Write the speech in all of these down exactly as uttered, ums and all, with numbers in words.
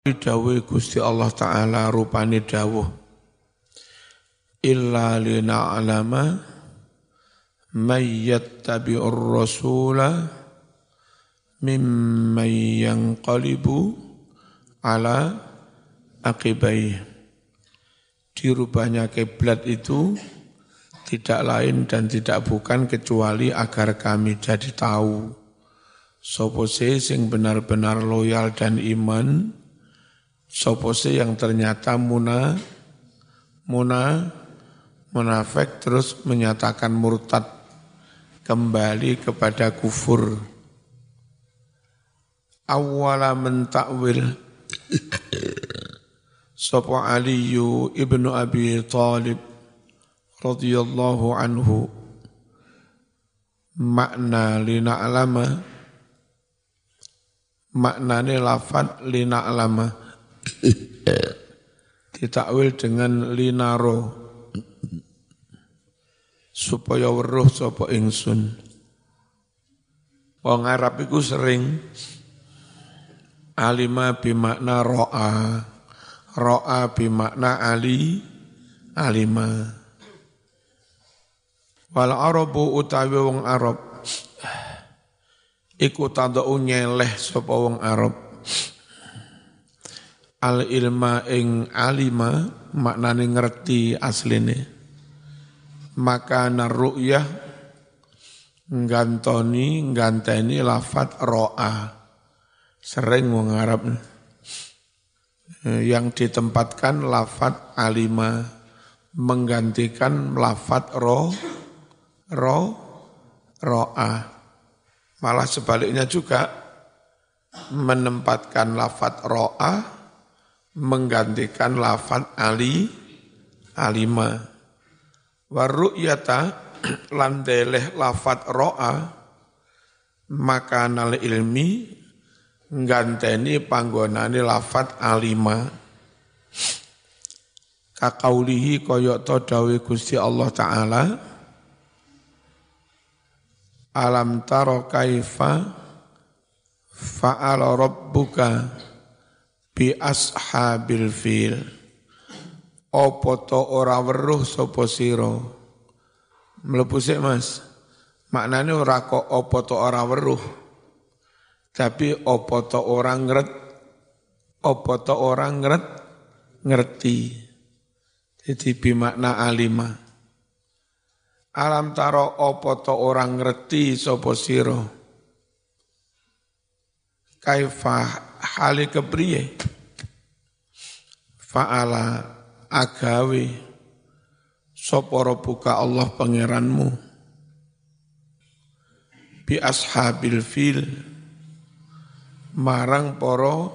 Dawuh Gusti Allah Ta'ala rupane dawuh illa lina'lama may yattabi'ur rasula mimman yanqalibu ala aqibai. Dirubahnya kiblat itu tidak lain dan tidak bukan kecuali agar kami jadi tahu sapa sing benar-benar loyal dan iman, sapa yang ternyata muna, muna, munafik terus menyatakan murtad kembali kepada kufur. Awwala mentakwil sapa Aliyu ibnu Abi Thalib radhiyallahu anhu makna lina'lama, maknane lafad lina'lama ditakwil dengan linaro supaya weruh sapa ingsun. Wong Arab iku sering alima bimakna ro'a, ro'a bimakna ali, alima. Wal Arabu utawi wong Arab iku tandau nyeleh sapa wong Arab al ilma ing alima, maknane ngerti asline. Maka naru'yah nggantoni ngganteni lafat ro'a. Sering wong Arab yang ditempatkan lafat alima menggantikan lafat ro ro ro'a. Malah sebaliknya juga menempatkan lafat ro'a menggantikan lafat ali alima. Waru'yata landeleh lafat ro'a maka nal ilmi ngganteni panggonane lafat alima. Kakaulihi koyok to dawe Gusti Allah Ta'ala alam taro kaifa fa'ala rabbuka bi ashabil fil. Apa to ora weruh sapa sira? Mlebu sik Mas. Maknane ora kok apa to ora weruh. Tapi apa to ora ngret, apa to ora ngret ngerti. Jadi bimakna alima. Alam taro apa to ora ngerti sapa sira? Kaifa hale kepriye? Fa'ala agawe sapa rabbuka Allah pangeranmu bi ashabil fil marang para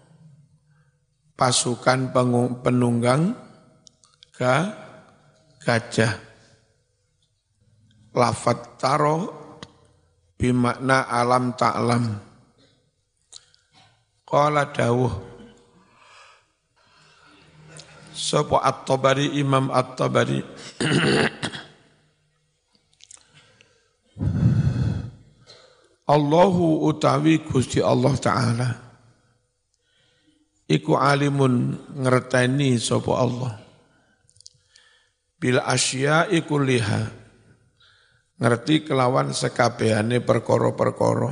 pasukan penunggang ga gajah. Lafat taro bimakna alam ta'lam. Qala dawuh sapa At-Tabari, Imam At-Tabari Allahu utawi Gusti Allah Ta'ala iku alimun ngerteni sapa Allah bil asya'i kulliha ngerti kelawan sekabehane perkara-perkara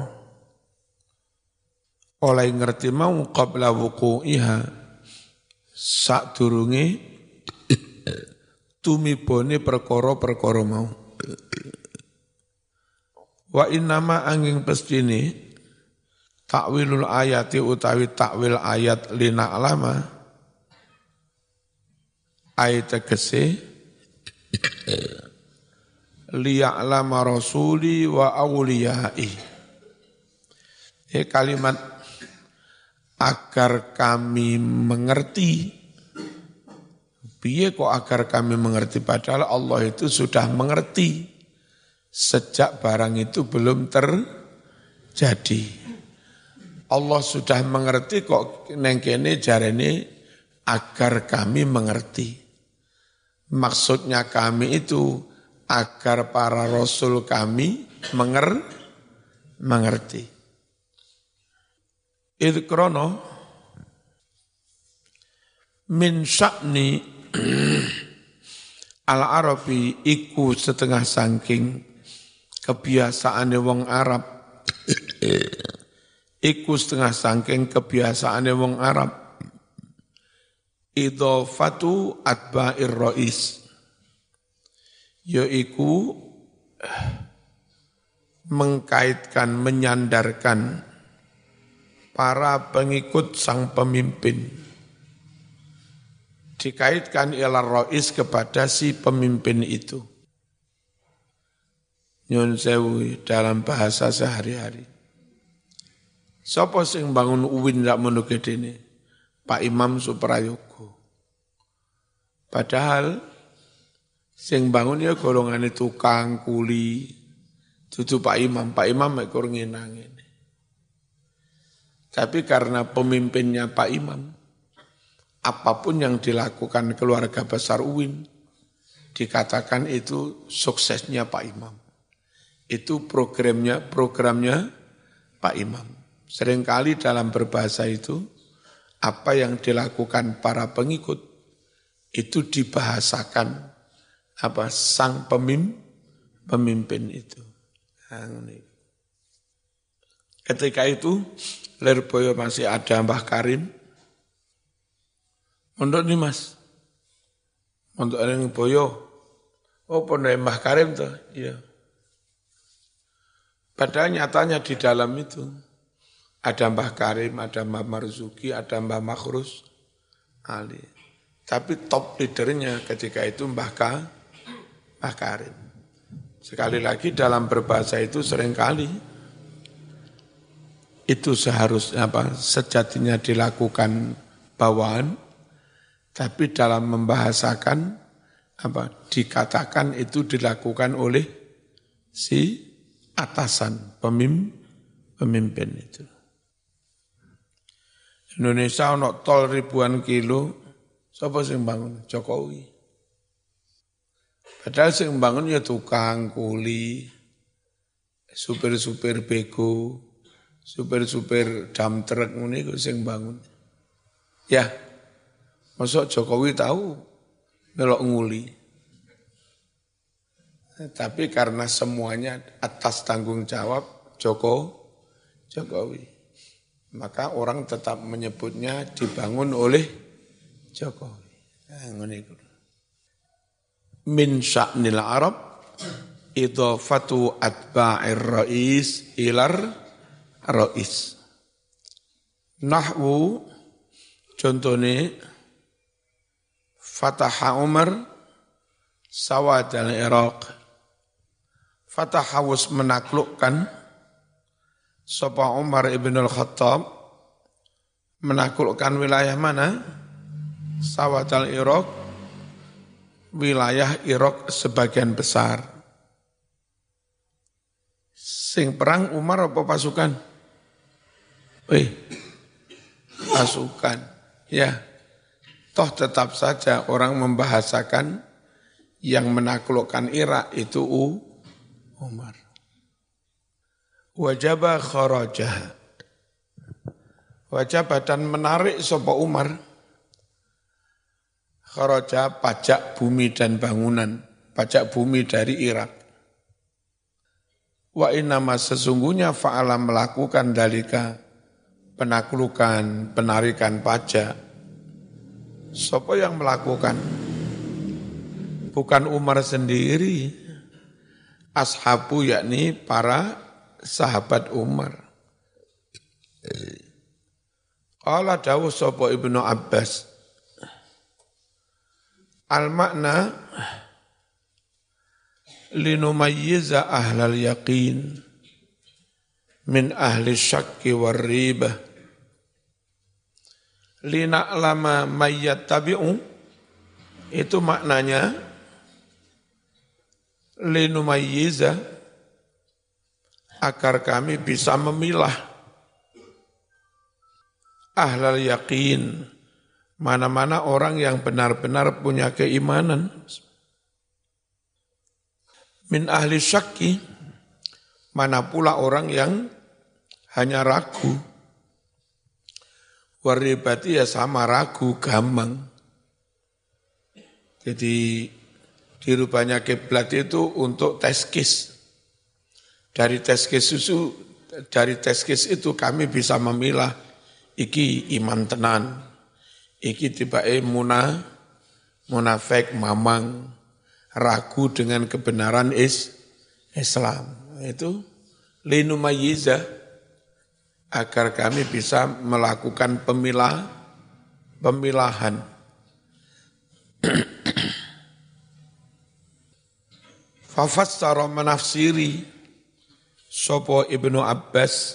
oleh ngerti mau qabla wuqu'iha sadurunge tumibone perkara-perkara mau. Wa innama angin pestine takwilul ayati utawi takwil ayat lina alama ayat tegese liya'lama rasuli wa awliyai. Ini kalimat agar kami mengerti. Piye kok agar kami mengerti? Padahal Allah itu sudah mengerti sejak barang itu belum terjadi. Allah sudah mengerti kok neng kene jarene agar kami mengerti. Maksudnya kami itu agar para rasul kami menger, mengerti. Idh krono min sya'ni al-Arabi iku setengah saking kebiasaane wong Arab iku setengah saking kebiasaane wong Arab idhofatu atba'ir rais yaiku mengkaitkan menyandarkan para pengikut sang pemimpin dikaitkan ilar rais kepada si pemimpin itu. Nyun sewu dalam bahasa sehari-hari. Sapa sing bangun U I N ndak mono gedene? Pak Imam Suprayoga. Padahal sing bangun ya golongane tukang kuli. Dudu Pak Imam, Pak Imam mek kur ngenang ngene. Tapi karena pemimpinnya Pak Imam, apapun yang dilakukan keluarga besar U I N, dikatakan itu suksesnya Pak Imam. Itu programnya, programnya Pak Imam. Seringkali dalam berbahasa itu, apa yang dilakukan para pengikut, itu dibahasakan apa sang pemim, pemimpin itu. Ketika itu, Lirboyo masih ada Mbah Karim, Mondok nih mas, mondok yang boyo, oh pondok Mbah Karim tuh, iya. Padahal nyatanya di dalam itu ada Mbah Karim, ada Mbah Marzuki, ada Mbah Makhrus Ali. Tapi top leadernya ketika itu Mbah Ka, Mbah Karim. Sekali lagi dalam berbahasa itu seringkali itu seharusnya apa sejatinya dilakukan bawaan. Tapi dalam membahasakan, apa dikatakan itu dilakukan oleh si atasan, pemim, pemimpin itu. Indonesia ono tol ribuan kilo, siapa sing bangun? Jokowi. Padahal sing bangun ya tukang kuli, supir-supir bego, supir-supir dam truk ngene iku sing bangun. Ya. Masa Jokowi tahu melok nguli. Tapi karena semuanya atas tanggung jawab Joko, Jokowi. Maka orang tetap menyebutnya dibangun oleh Jokowi. Min sya'nil Arab idhafatu atba'ir rais ilar rais. Nahwu contohnya Fataha Umar Sawad al-Iraq. Fataha was menaklukkan sapa Umar ibn al-Khattab menaklukkan wilayah mana? Sawad al-Iraq, wilayah Irak sebagian besar. Sing perang Umar apa pasukan? Eh, pasukan. Ya. Toh tetap saja orang membahasakan yang menaklukkan Irak itu U, Umar. Wajaba kharajah. Wajaba dan menarik sapa Umar. Kharaja pajak bumi dan bangunan, pajak bumi dari Irak. Wa innama sesungguhnya fa'ala melakukan dalika penaklukan, penarikan pajak. Siapa yang melakukan? Bukan Umar sendiri. Ashabu yakni para sahabat Umar. Qala dawuh sapa Ibnu Abbas. Al-makna linumayyiza ahlal yaqin min ahli syakki war ribah lina'lama mayyattabi'u itu maknanya linumayyiza agar kami bisa memilah ahlal yaqin mana-mana orang yang benar-benar punya keimanan min ahli syakki mana pula orang yang hanya ragu waribati ya sama ragu gampang Jadi dirubahnya kiblat itu untuk teskis. Dari teskis susu, dari teskis itu kami bisa memilah iki iman tenan, iki tibae muna, munafik, mamang, ragu dengan kebenaran is Islam. Itu linumayyiza, agar kami bisa melakukan pemilah, pemilahan. Fafassara menafsiri sopo Ibnu Abbas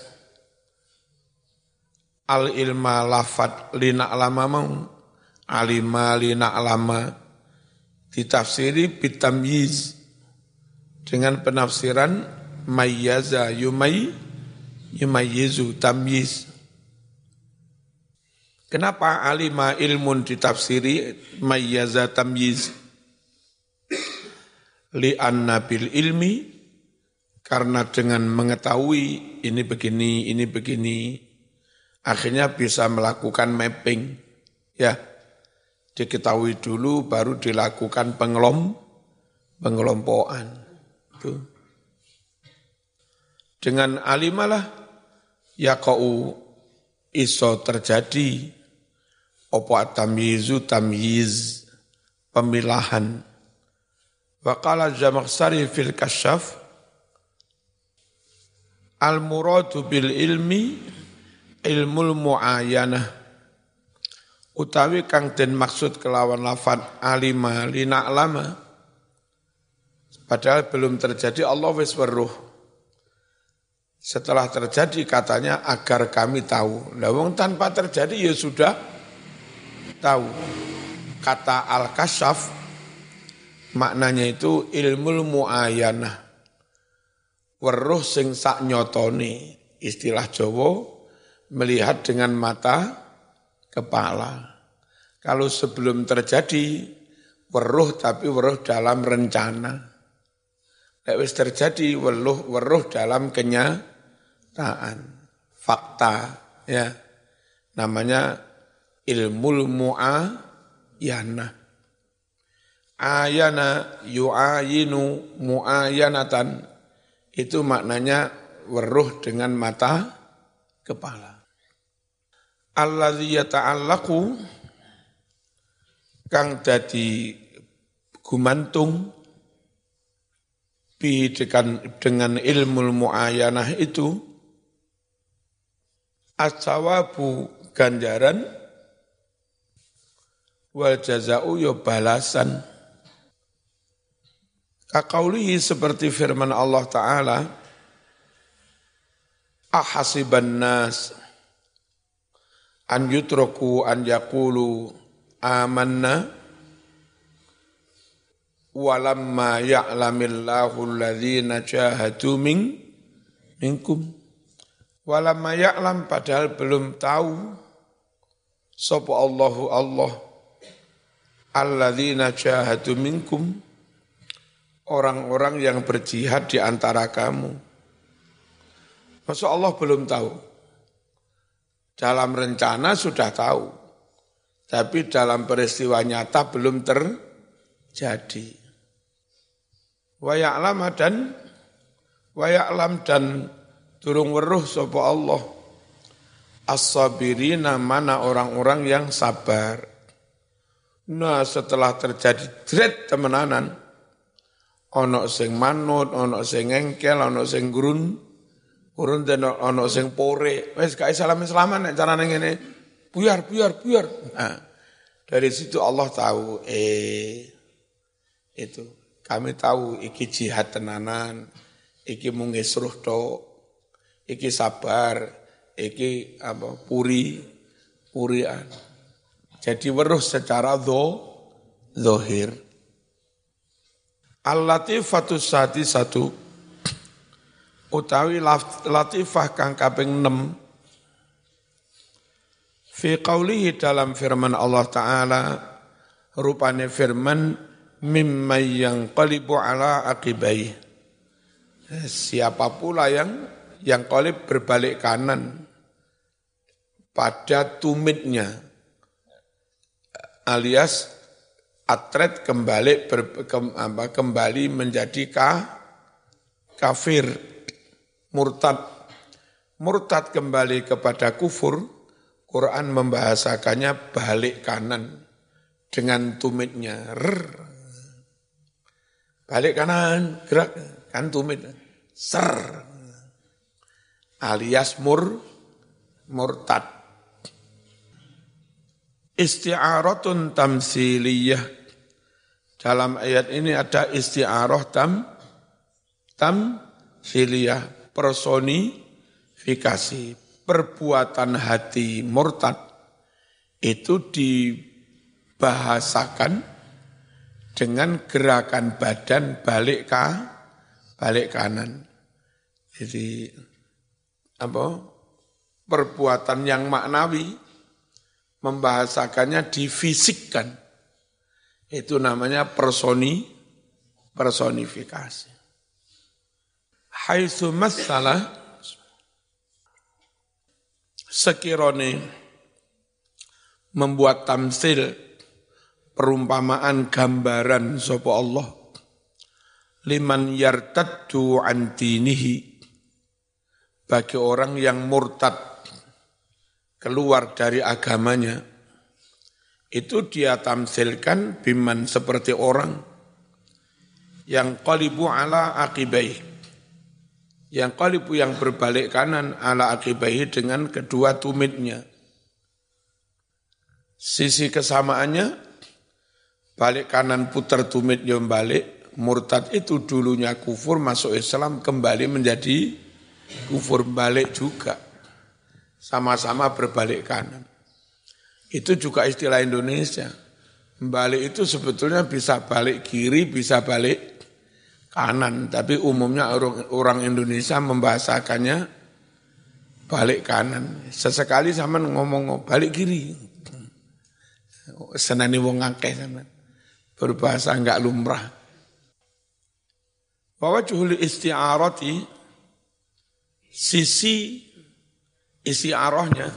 al ilma lafat lina alama mau alima lina alama ditafsiri bitamyiz dengan penafsiran mayyaza yumay yumayyizu tamyiz. Kenapa alima ilmun ditafsiri mayyaza tamyiz? Li'anna bil ilmi, karena dengan mengetahui ini begini, ini begini, akhirnya bisa melakukan mapping. Ya, diketahui dulu baru dilakukan pengelom, pengelompokan. Itu. Dengan alimalah yaqa'u iso terjadi opo tamyizu tamyiz, pemilahan. Wa qala Zamakhsyari fil Kasyaf al-muradu bil ilmi ilmul muayyanah, utawi kang den maksud kelawan lafaz alima lina alama, padahal belum terjadi Allah wis weruh. Setelah terjadi katanya agar kami tahu. Lah wong tanpa terjadi ya sudah tahu. Kata al-kasyaf maknanya itu ilmul muayyanah, weruh sing sak nyotone, istilah Jawa melihat dengan mata kepala. Kalau sebelum terjadi weruh tapi weruh dalam rencana. Nek wis terjadi weruh weruh dalam kenyataan, fakta, ya. Namanya ilmul muayyanah. Ayana yu'ayinu mu'ayanatan, itu maknanya weruh dengan mata kepala. Alladzi yata'allaqu, kang dadi gumantung bi dengan, dengan ilmu mu'ayanah itu as-sawabu ganjaran wal jaza'u ya balasan. Kaqaulihi seperti firman Allah Ta'ala, ahasiban nas an yutraku an yaqulu amanna walamma ya'lamillahu alladhina jahadu min minkum. Walamma ya'lam, padahal belum tahu sapa Allahu Allah alladhina jahadu minkum, orang-orang yang berjihad di antara kamu. Masa Allah belum tahu? Dalam rencana sudah tahu, tapi dalam peristiwa nyata belum terjadi. Wa ya'lam dan wa ya'lam dan durung weruh sapa Allah as-sabirina, mana orang-orang yang sabar. Nah, setelah terjadi dret temenanan, ono sing manut, ono sing engkel, ono sing gurun, gurun dan ono sing pore. Wes gak salam-salaman nek carane ngene. Buyar, buyar, buyar. Nah, dari situ Allah tahu, eh itu kami tahu iki jihad tenanan, iki mung ngesruh tok, iki sabar, iki apa puri, purian. Jadi weruh secara dho, zahir. Al-latifatu sati satu, utawi latifah kang kaping enam, fi qaulihi dalam firman Allah Ta'ala, rupane firman mimman yang qalibu ala aqibai, siapa pula yang yang qalib berbalik kanan pada tumitnya, alias atret kembali ber, ke, apa, kembali menjadi ka, kafir, murtad. Murtad kembali kepada kufur, Quran membahasakannya balik kanan dengan tumitnya. Rrr. Balik kanan, gerak, kan tumit. Ser. Alias mur, murtad. Isti'aratun tamsiliyah. Dalam ayat ini ada isti'arah tam, tamsiliyah, personifikasi, perbuatan hati murtad itu dibahasakan dengan gerakan badan balik ka, balik kanan. Jadi apa? Perbuatan yang maknawi membahasakannya difisikkan. Itu namanya personi, personifikasi. Haitsu masalah sekirone membuat tamsil perumpamaan gambaran sapa Allah liman yartaddu an dinihi bagi orang yang murtad keluar dari agamanya, itu dia tamsilkan biman seperti orang yang qalibu ala aqibai, yang qalibu yang berbalik kanan ala aqibai dengan kedua tumitnya. Sisi kesamaannya, balik kanan putar tumit yang balik, murtad itu dulunya kufur masuk Islam kembali menjadi kufur balik juga. Sama-sama berbalik kanan. Itu juga istilah Indonesia. Balik itu sebetulnya bisa balik kiri, bisa balik kanan. Tapi umumnya orang, orang Indonesia membahasakannya balik kanan. Sesekali sama ngomong balik kiri. Senani wong akeh sama. Berbahasa enggak lumrah. Bahwa juhul isti'arati, sisi isi arahnya,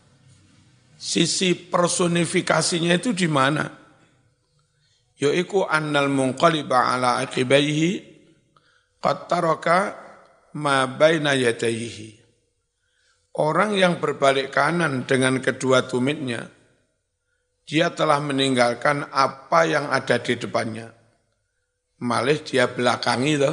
sisi personifikasinya itu di mana? Yaiku annal munqaliba ala aqibaihi qad taraka ma baina yadayhi. Orang yang berbalik kanan dengan kedua tumitnya, dia telah meninggalkan apa yang ada di depannya. Malih dia belakangi toh.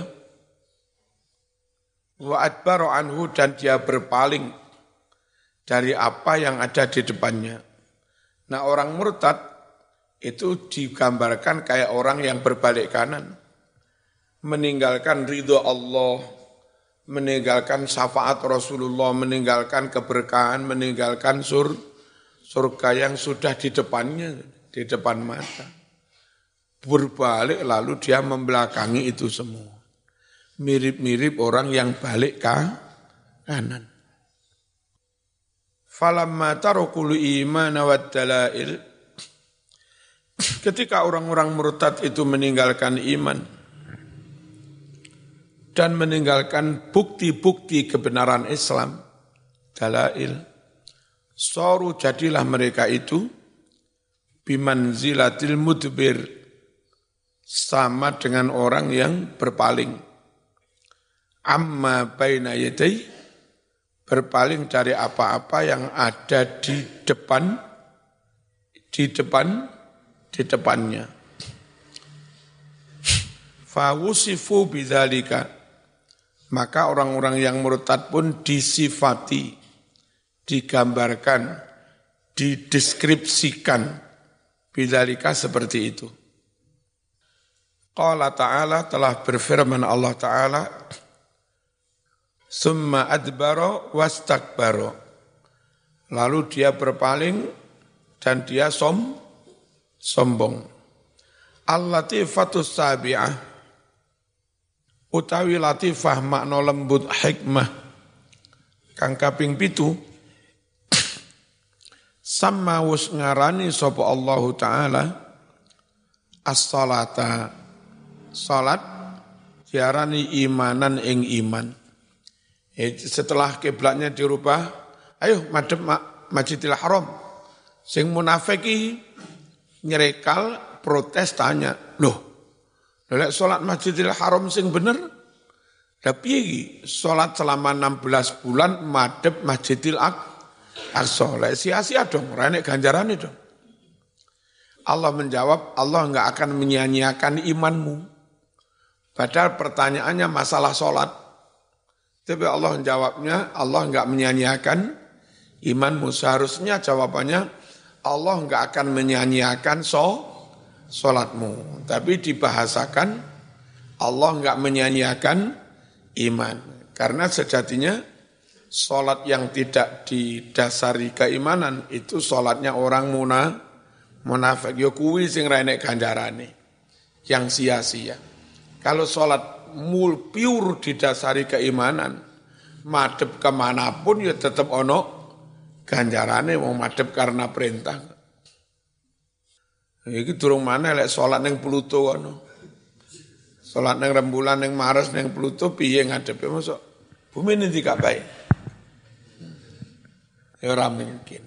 Wa adbaru anhu, dan dia berpaling dari apa yang ada di depannya. Nah, orang murtad itu digambarkan kayak orang yang berbalik kanan, meninggalkan ridho Allah, meninggalkan syafaat Rasulullah, meninggalkan keberkahan, meninggalkan sur, surga yang sudah di depannya, di depan mata. Berbalik lalu dia membelakangi itu semua. Mirip-mirip orang yang balik ke kanan. Falamma tarakul iman wad dalail, ketika orang-orang murtad itu meninggalkan iman dan meninggalkan bukti-bukti kebenaran Islam, dalail, saru jadilah mereka itu bimanzilatil mudbir, sama dengan orang yang berpaling. Amma baina yadai, berpaling dari apa-apa yang ada di depan, di depan, di depannya. Fawusifu bidzalika, maka orang-orang yang murtad pun disifati, digambarkan, dideskripsikan bidzalika seperti itu. Qala ta'ala, telah berfirman Allah Ta'ala, summa adbaro wastakbaro, lalu dia berpaling dan dia som, sombong. Al-latifatus sabi'ah, utawi latifah makna lembut hikmah kang kaping pitu, sama wus ngarani sapa Allah Ta'ala as-salata, salat diarani imanan ing iman. Setelah kiblatnya dirubah, ayo madhep Masjidil Haram. Sing munafiki nyerekal protes tanya, loh, lek sholat Masjidil Haram sing bener, tapi iki sholat selama enam belas bulan madhep Masjidil Aqsa, lek sia-sia dong, renek ganjaran itu. Allah menjawab, Allah enggak akan menyia-nyiakan imanmu. Padahal pertanyaannya masalah sholat. Tapi Allah menjawabnya, Allah enggak menyia-nyiakan imanmu. Seharusnya jawabannya, Allah enggak akan menyia-nyiakan so, sholatmu. Tapi dibahasakan, Allah enggak menyia-nyiakan iman. Karena sejatinya, sholat yang tidak didasari keimanan, itu sholatnya orang muna, munafik. Ya kuwi sing ra enek ganjarane, yang sia-sia. Kalau sholat mul pure didasari keimanan, madhep kemanapun ya tetap ono ganjarane, mau madhep karena perintah. Iki durung maneh lek salat ning Pluto ono. Salat ning rembulan ning Mars ning Pluto piye ngadepe mosok bumi ini dikabai. Ya ora mungkin.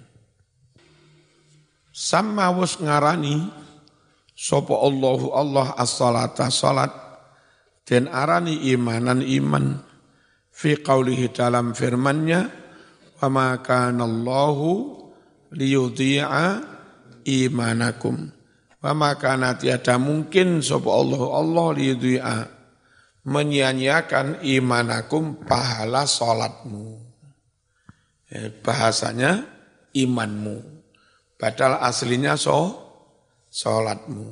Sama wis ngarani sapa Allahu Allah as-salata salat dan arani imanan iman fi qaulihi dalam firman-Nya wa ma kana Allahu liyudhi'a imanakum wa ma kana tiada mungkin sapa Allah Allah liyudhi'a menyia-nyiakan imanakum pahala salatmu. Eh, bahasanya imanmu padahal aslinya so salatmu.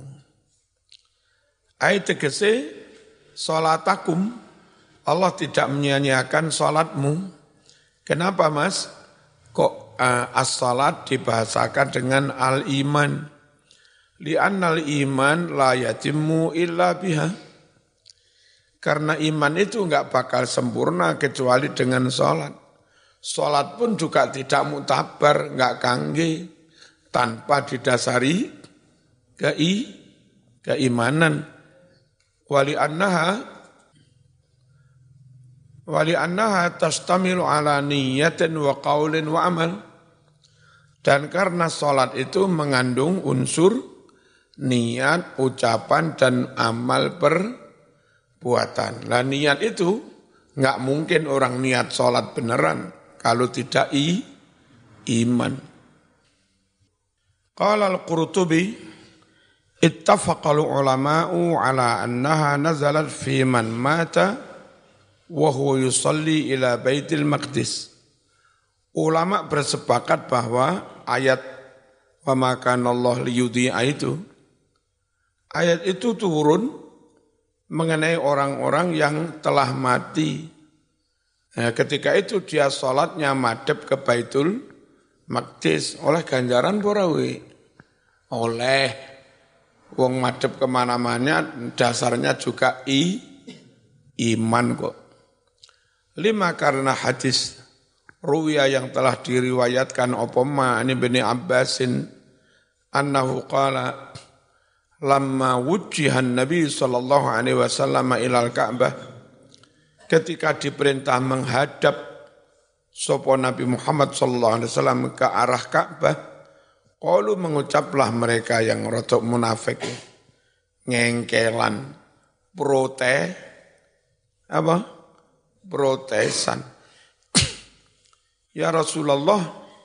Ai tegese salatakum, Allah tidak menyia-nyiakan salatmu. Kenapa Mas? Kok uh, as-salat dibahasakan dengan al-iman? Li'annal iman la yatimmu illa biha. Karena iman itu enggak bakal sempurna kecuali dengan salat. Salat pun juga tidak mutabar, enggak kangge tanpa didasari kei, keimanan. Wali annaha wali annaha tastamilu ala niyatin wa qaulin wa amal. Dan karena salat itu mengandung unsur niat, ucapan dan amal perbuatan. Lah niat itu enggak mungkin orang niat salat beneran kalau tidak i, iman. Qala al-Qurtubi ittafaqal ulama'u ala annaha nazalat fi man mata wa huwa yusalli ila Baitul Maqdis. Ulama bersepakat bahwa ayat wa ma kana Allah liyudhi'a itu ayat itu turun mengenai orang-orang yang telah mati. Nah, ketika itu dia salatnya madhep ke Baitul Maqdis oleh ganjaran porawi. Oleh wong madhep kemana-mana dasarnya juga i, iman kok. Lima karena hadis ruwiya yang telah diriwayatkan opoma ini bin Abbasin annahu qala lamma wujjihan Nabi sallallahu alaihi wasallam ilal Ka'bah, ketika diperintah menghadap sapa Nabi Muhammad sallallahu alaihi wasallam ke arah Ka'bah, qalu mengucaplah mereka yang rotok munafik, ngengkelan, protes, apa? Protesan. Ya Rasulullah,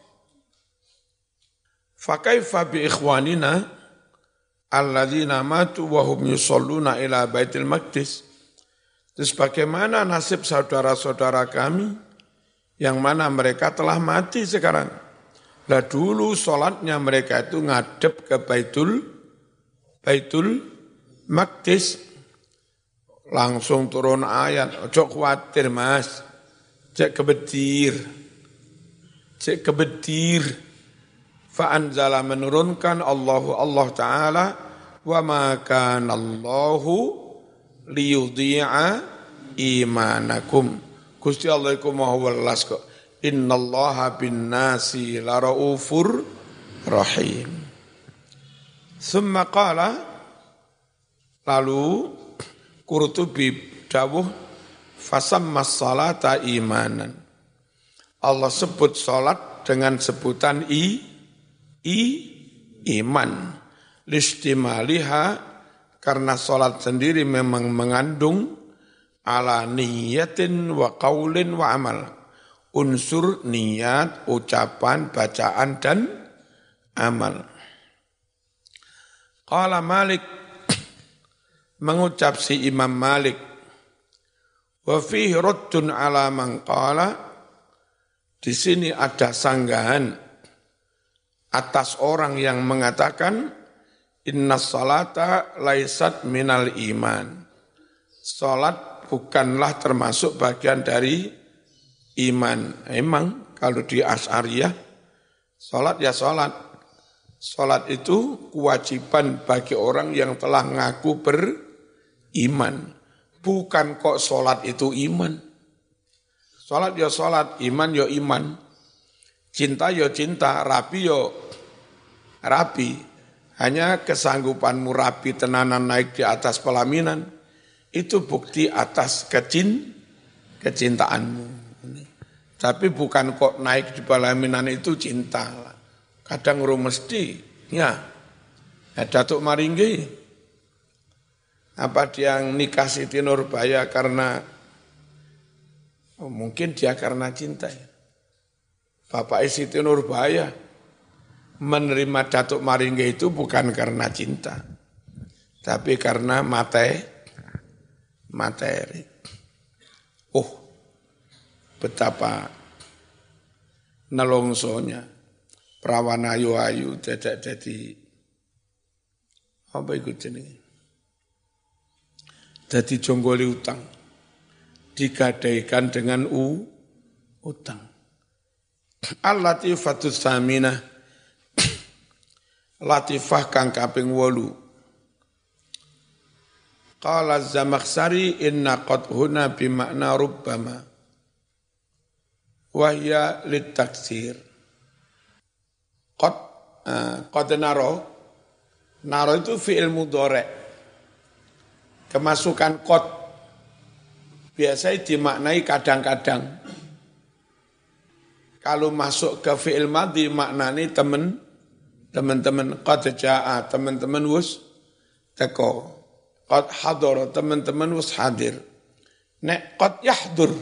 fa kaifa bi ikhwanina alladzina matu wa hum yusalluna ila Baitul Maqdis? Terus bagaimana nasib saudara-saudara kami yang mana mereka telah mati sekarang? Lah dulu sholatnya mereka itu ngadep ke Baitul Baitul Maqdis. Langsung turun ayat, ojo khawatir Mas, cek kebetir, cek kebetir. Fa'anzala menurunkan Allahu Allah Ta'ala, wa ma kana Allahu liyudhi'a imanakum. Gusti Allah iku maha welas kok. Innallaha bin nasi laraufur rahim. Summa qala, lalu Qurtubi dawuh fasammas salata imanan. Allah sebut salat dengan sebutan i, i iman. listimaliha karena salat sendiri memang mengandung ala niyatin wa qaulin wa amal. Unsur niat, ucapan, bacaan dan amal. Qala Malik mengucap si Imam Malik wa fihi raddun ala man qala di sini ada sanggahan atas orang yang mengatakan inna salata laisat minal iman. Salat bukanlah termasuk bagian dari iman. Emang kalau di Asy'ariyah salat ya salat. Salat itu kewajiban bagi orang yang telah ngaku beriman. Bukan kok salat itu iman. Salat ya salat, iman ya iman. Cinta ya cinta, rapi ya rapi. Hanya kesanggupanmu rapi tenanan naik di atas pelaminan, itu bukti atas kecin, kecintaanmu. Tapi bukan kok naik di pelaminan itu cinta. Kadang ru mesti, ya. Ya Datuk Maringgi, apa dia nikah Siti Nurbaya karena, oh, mungkin dia karena cinta. Ya. Bapak Siti Nurbaya menerima Datuk Maringgi itu bukan karena cinta, tapi karena materi. materi. Oh, betapa nelongsonya perawan ayu-ayu dadak dadi apa iku jenenge? Dadi jonggoli utang. Digadaikan dengan u utang. Al-latifatus saminah latifah kang kaping wolu. Qala Az-Zamakhsyari inna qad huna bimakna rubbama wa hiya litaksir. Qad uh, qad naro naro itu fi'il mudhari'. Kemasukan qad biasanya dimaknai kadang-kadang. Kalau masuk ke fi'il madhi maknanya teman teman-teman qad jaa, teman-teman wus teko. Qad hadara, teman-teman wis hadir. Nek qad yahdur.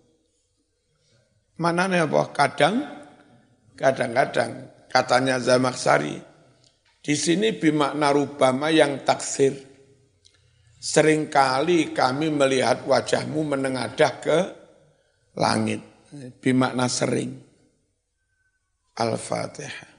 Manane apa? Kadang, kadang-kadang. Katanya Zamakhsyari. Di sini bimakna rubama yang taksir. Seringkali kami melihat wajahmu menengadah ke langit. Bimakna sering. Al-Fatihah.